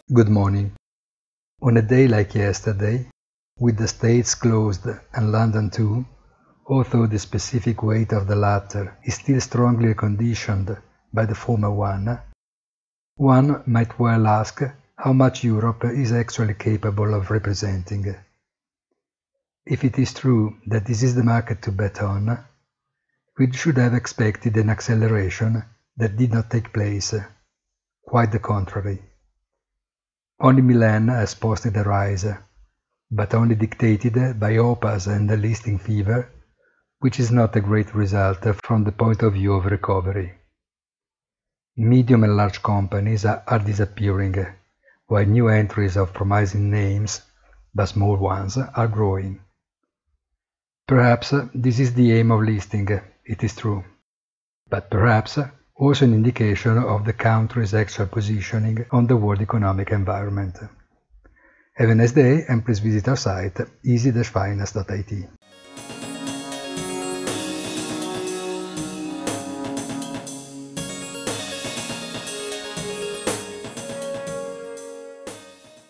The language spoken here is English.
Good morning. On a day like yesterday, with the States closed and London too, although the specific weight of the latter is still strongly conditioned by the former one might well ask how much Europe is actually capable of representing. If it is true that this is the market to bet on, we should have expected an acceleration that did not take place. Quite the contrary. Only Milan has posted a rise, but only dictated by OPAS and the listing fever, which is not a great result from the point of view of recovery. Medium and large companies are disappearing, while new entries of promising names, but small ones, are growing. Perhaps this is the aim of listing, it is true, but perhaps also an indication of the country's actual positioning on the world economic environment. Have a nice day and please visit our site easy-finance.it.